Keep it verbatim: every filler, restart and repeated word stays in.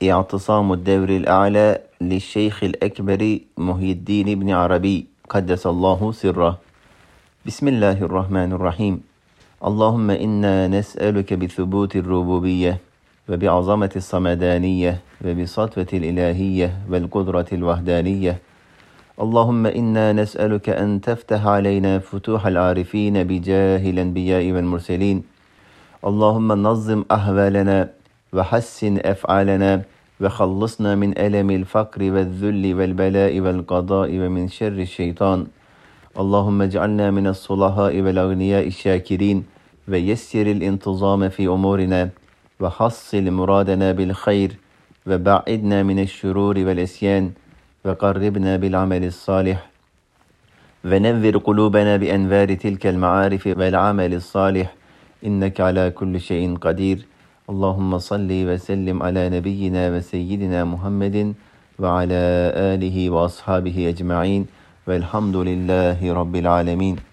اعتصام الدور الأعلى للشيخ الأكبر محي الدين بن عربي قدس الله سره. بسم الله الرحمن الرحيم. اللهم إنا نسألك بثبوت الربوبية وبعظمة الصمدانية وبسطوة الإلهية والقدرة الوحدانية. اللهم إنا نسألك أن تفتح علينا فتوح العارفين بجاه الأنبياء والمرسلين. اللهم نظم أحوالنا وحسن أفعالنا وخلصنا من ألم الفقر والذل والبلاء والقضاء ومن شر الشيطان. اللهم اجعلنا من الصلحاء والأغنياء الشاكرين ويسر الانتظام في أمورنا وحصل مرادنا بالخير وبعدنا من الشرور والإسيان وقربنا بالعمل الصالح ونذر قلوبنا بأنوار تلك المعارف والعمل الصالح إنك على كل شيء قدير. اللهم صل وسلم على نبينا وسيدنا محمد وعلى آله وأصحابه أجمعين والحمد لله رب العالمين.